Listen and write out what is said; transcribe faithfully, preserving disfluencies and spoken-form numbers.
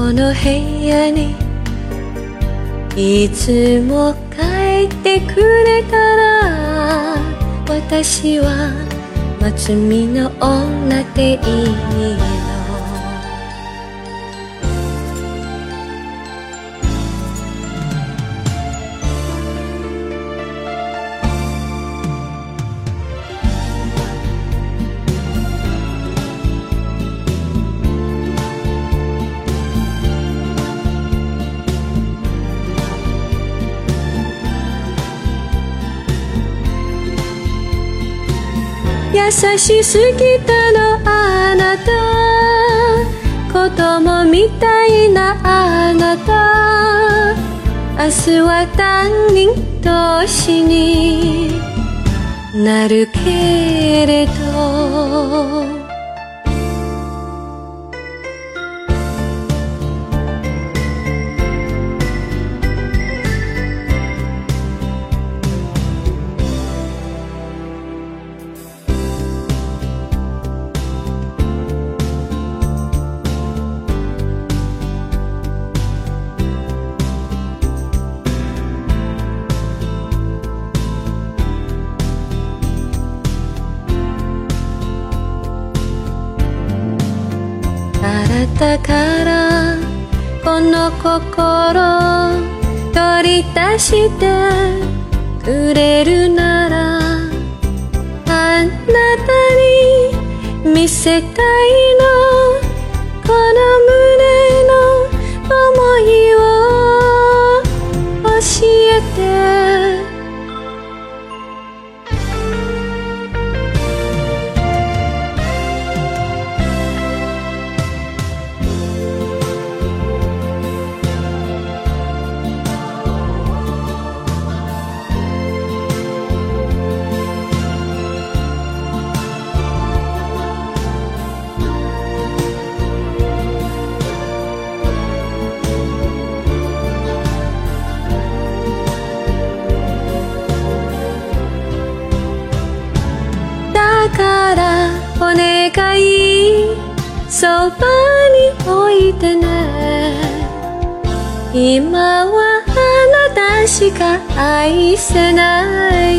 この部屋にいつも帰ってくれたら、私は松見の女でいいの。優しすぎたのあなた、子供みたいなあなた、明日は担任同士になるけれど、あなたからこの心取り出してくれるなら、あなたに見せたいの、この胸の想いを教えて。だからお願い、そばにおいてね。今はあなたしか愛せない